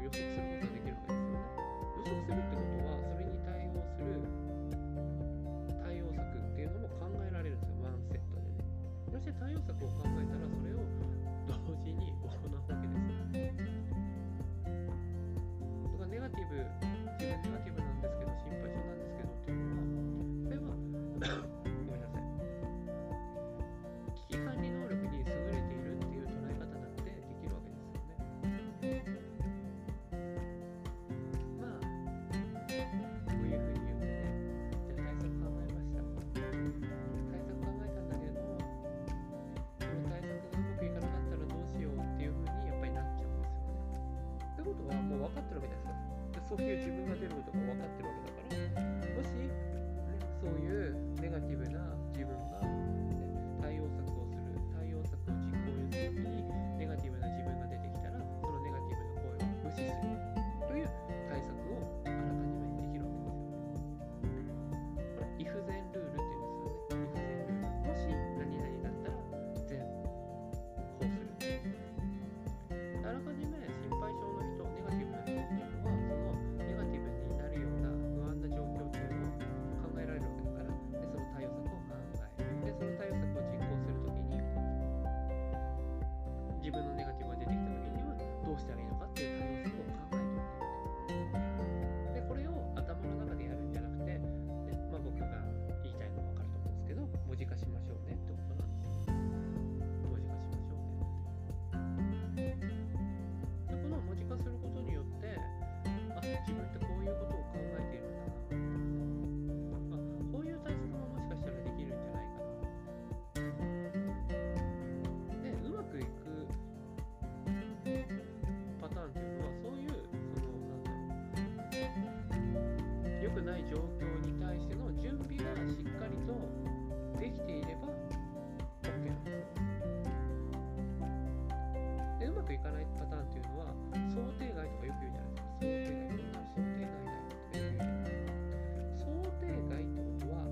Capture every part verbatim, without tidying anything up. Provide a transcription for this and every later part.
予測することができるわけですよね。予測するってことはそれに対応する対応策っていうのも考えられるんですよ、ワンセットでね。そして対応策を考えたらそれを同時に行うわけですよ。だからネガティブ、自分ネガティブなんですけど心配性なんですけどっていうのは、それはごめんなさい、危機管理能力に優れているっていう捉え方だってできるわけですよね。まあこういうふうに言ってね、じゃあ対策考えました、対策考えたんだけれども、この対策がうまくいかなかったらどうしようっていうふうにやっぱりなっちゃうんですよね。ってことはもう分かってるわけですよ。でそういう自分が出ることが分かってるわけだから、もし、ね、そういうネガティブな自分が、ね、対応策をする対応策を実行するときにネガティブな自分が出てきたら、そのネガティブな声を無視するという対策をあらかじめできるわけですよね。これイフゼンルールって言うんですよね。イフゼンルール。もし何々だったら全こうする。あらかじめ心配性の人、ネガティブな人っていうのは、そのネガティブになるような不安な状況っていうのを考えられるわけだから、でその対応策を考える。でその対応策を実行するときに、自分のネガティブが出てきたときにはどうしたらいいのかっていう対応策を考えておく。でこれを頭の中でやるんじゃなくて、ね、まあ、僕が言いたいのは分かると思うんですけど、文字化しましょうねってことなんですよ。文字化しましょうねって。でこの文字化することによって、あ、自分ってこういうことを考えているんだな、あ、こういう対策ももしかしたらできるんじゃないかな。でうまくいくパターンっていうのは、そういうそのなんだろう、良くない状況に対しての準備がしっかりとできていれば OK なんですよ。でうまくいかないパターンっていうのは、想定外とかよく言うじゃないですか。想定外、こんなの想定外だよとかよく言うじゃないですか。想定外ってことは、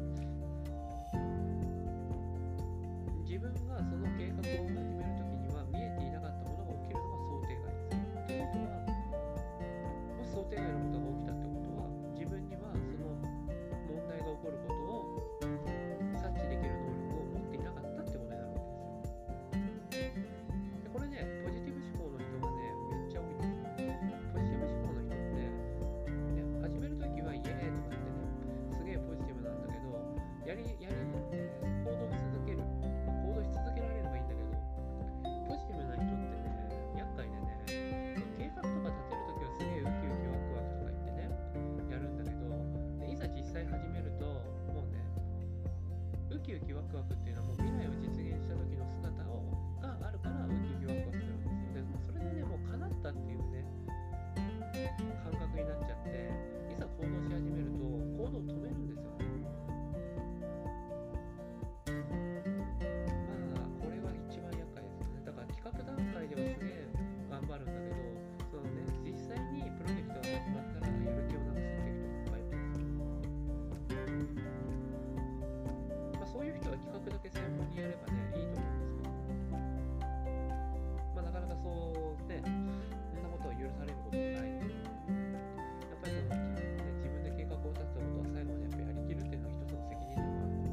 自分がその計画を始めるときには見えていなかったものが起きるのが想定外ですよ。ということは、もし想定外のことが起きたってことは、自分にはその問題が起こることを察知できる能力を持っていなかったってことになるわけですよ。でこれね、ポジティブ思考の人がね、めっちゃ多いんですよ。ポジティブ思考の人って、ね、始めるときはイエーイとかってね、すげえポジティブなんだけど、やり、やり、えー行動し続ける、行動し続けられればいいんだけど、ポジティブな人ってね、厄介でね、計画とか立てるときはすげえウキウキワクワクとか言ってね、やるんだけど、でいざ実際始めると、もうね、ウキウキワクワクっていうのはもう未来を実現した時の姿をがあるからウキウキワクワクするんですよ。でもうそれでね、もう叶ったっていうね、感覚になっちゃって、いざ行動し始めると行動を止めるんですよね。まあこれは一番厄介ですよね。だから企画段階ではすげえ頑張るんだけど、そのね、実際にプロジェクトが始まったらやる気をなくすっていう人いっぱいいるんですよ。まあそういう人は企画だけ専門にやればね、いいと思うんですけど、まあなかなかそうね、そんなことを許されることもないんで、やっぱりその、ね、自分で計画を立てたことは最後までやっぱりやりきるっていうのは一つの責任でもあると思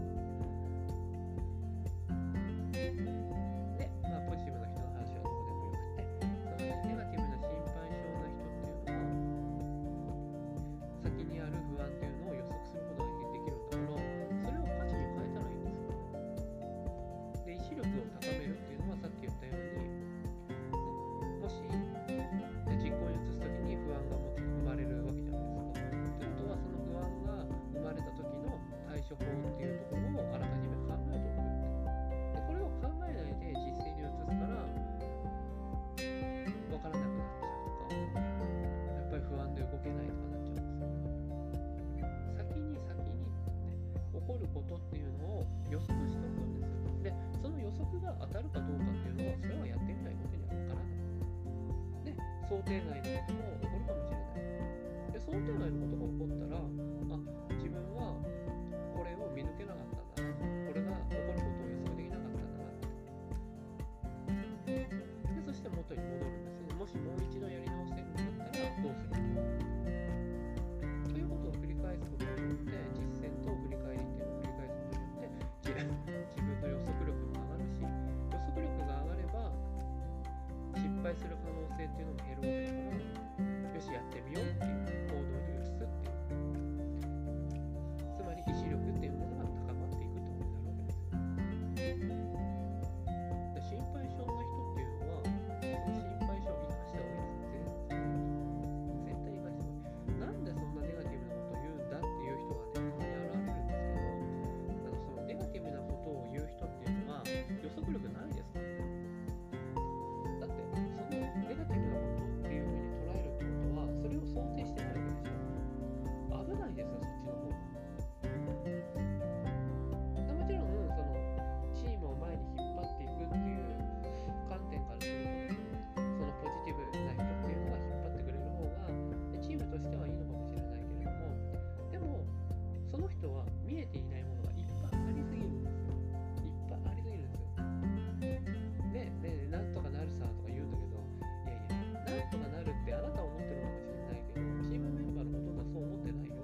う。で、まあポジティブな人の話はどこでもよくて、そのね、ネガティブな心配性な人っていうのは、先にある不安っていうのを予測することができるんだから、それを価値に変えたらいいんですよ。で、意志力を高めるっていうのはさっき言ったように、ね、もし、ね、実行に移すときに不安がも生まれるわけじゃないですか。ということは、その不安が生まれた時の対処法っていうところをあらかじめ考えておく。でこれを考えないで実践に移すから分からなくなっちゃうとか、やっぱり不安で動けないとかなっちゃうんですよ。先に先にね、起こることっていうのを予測しておくんですよ。でその予測が当たるかどうかっていうのは、それはやってみないことには分からない。で想定外のことも起こるかもしれない。で想定外のことが起こったら、あ、自分はこれを見抜けなかったんだな、これが起こることを予測できなかったんだなって。でそして元に戻るんですね。もしもう一度やり直せるんだったら、 返する可能性っていうのも減るわけだから、よしやってみようっていう行動に移すっていう、つまり意志力っていうものが高まっていくってことになるわけですよ。で心配性の人っていうのはその心配性を生かした方がいいです。絶対生かした方がいい。なんでそんなネガティブなことを言うんだっていう人がね、たまに現れるんですけど、あのそのネガティブなことを言う人っていうのは予測力ないですからね。だってそのネガティブなことっていう風に捉えるってことはそれを想定してないわけでしょ。危ないですよ、そっちの方が。もちろんそのチームを前に引っ張っていくっていう観点からすると、そのポジティブな人っていうのが引っ張ってくれる方がチームとしてはいいのかもしれないけれども、でもその人は見えていないものがいっぱいありすぎるんですよ。いっぱいありすぎるんですよ。ねえねえなんとかなるさとか言うんだけど、いやいやなんとかなるってあなたは思ってるかもしれないけど、チームメンバーのほとんどはそう思ってないよ。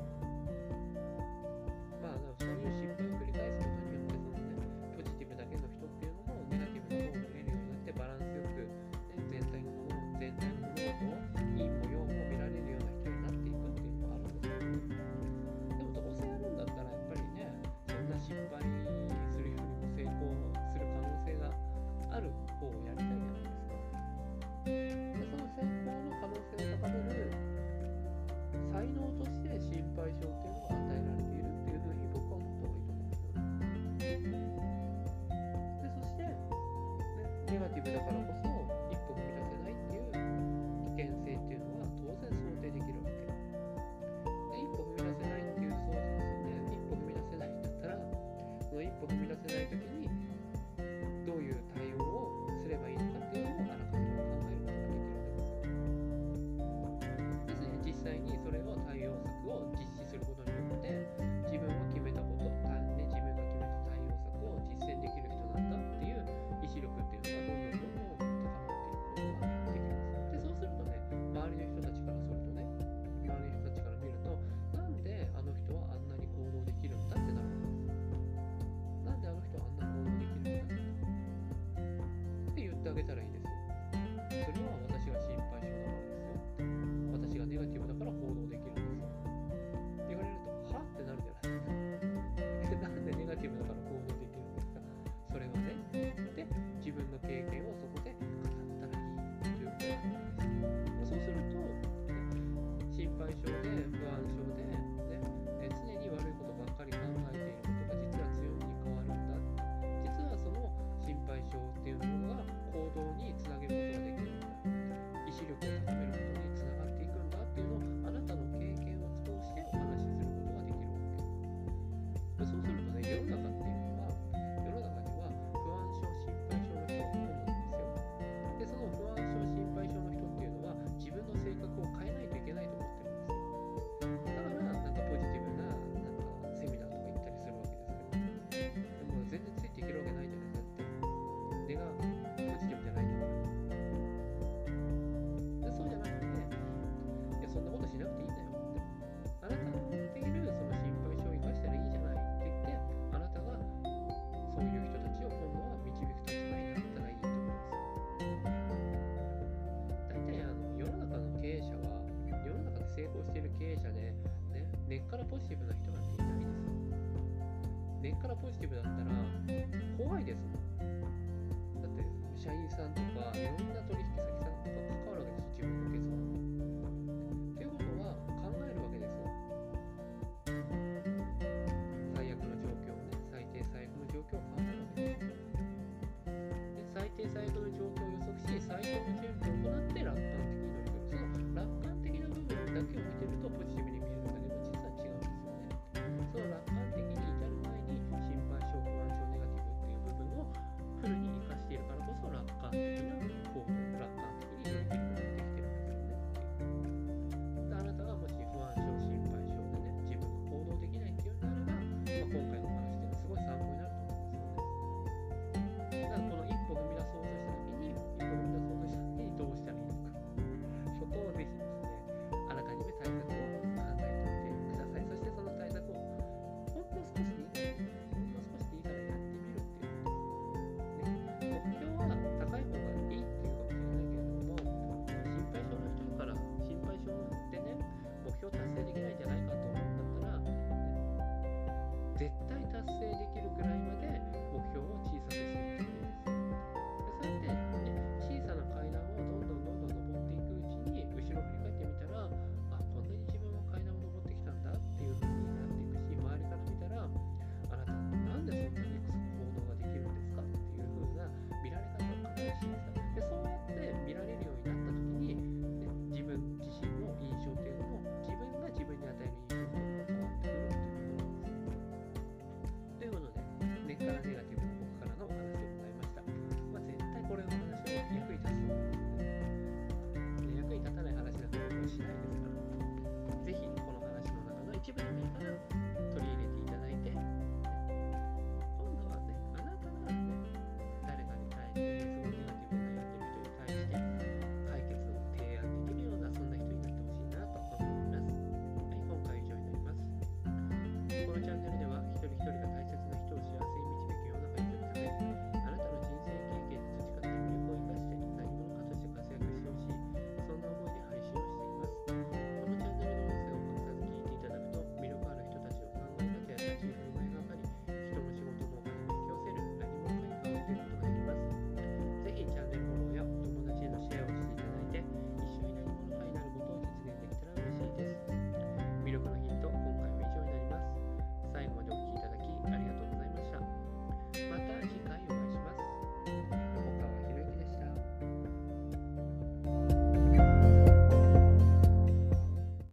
まあそういう失敗を繰り返すことによってそのねポジティブだけの人っていうのもネガティブな方を見れるようになってバランスよく、ね、全体のものを全体の物事を陰も陽も見られるような人になっていくっていうのがあるんですよ。でもどうせやるんだったらやっぱりね、そんな失敗するよりも成功する可能性がある方をやりたいじゃないですか。でその成功の可能性を高める才能として心配性っていうのが与えられているっていうふうに僕は思った方がいいと思うんですよね。でそして、ね、ネガティブだからこそ一歩踏み出せないっていう危険性っていうのは当然想定できるわけで、一歩踏み出せないっていう想像ですね。一歩踏み出せないんだったらその一歩踏み出せない時にどういう対応をすればいいのかっていうのをあらかじめ考えることができるわけですよ。ですね、実際にそれを対応策を実施することによって自分が決めたこと、ね、自分が決めた対応策を実践できる人なんだっていう意志力っていうのがどんどんどんどん高まっていくことができます。でそうするとね、周りの人たちからするとね、周りの人たちから見ると、なんであの人はあんなに行動できるんだってなるわけです。なんであの人はあんな行動できるんだって言ってあげたらいいですよ。それは私が心配性だからですよ。私がネガティブだから行動できるんですよ。言われると、はってなるじゃないですか。なんでネガティブだから行動できるんですか。それはね、で、自分の経験をそこで語ったらいいということなんです。そうすると、心配性で不安症で、ね、常に悪いことばっかり考えていることが実は強みに変わるんだ。実はその心配性っていうものが行動につなげることができるんだ。意志力を高めることにつながっていくんだっていうのをあなたの経験を通してお話しすることができるわけ。そうするとね、世の中っていうのは、世の中には不安症、心配症の人がほとんどなんですよ。で、その不安症、心配症の人っていうのは自分の性格を変えないといけないと思ってるんですよ。だからなんかポジティブななんかセミナーとか行ったりするわけですけど、でも全然ついていけるわけないじゃないですか。根がポジティブじゃないんだから。でそうじゃなくて、いやそんなことしなくていいんだよって。あなたの持っているその心配性を生かしたらいいじゃないって言って、あなたがそういう人たちを今度は導く立場になったらいいと思うんですよ。大体あの世の中の経営者は、世の中で成功している経営者で、ね、根っからポジティブな人なんていないですよ。根っからポジティブだったら怖いですもん。だって社員さんとかいろんな取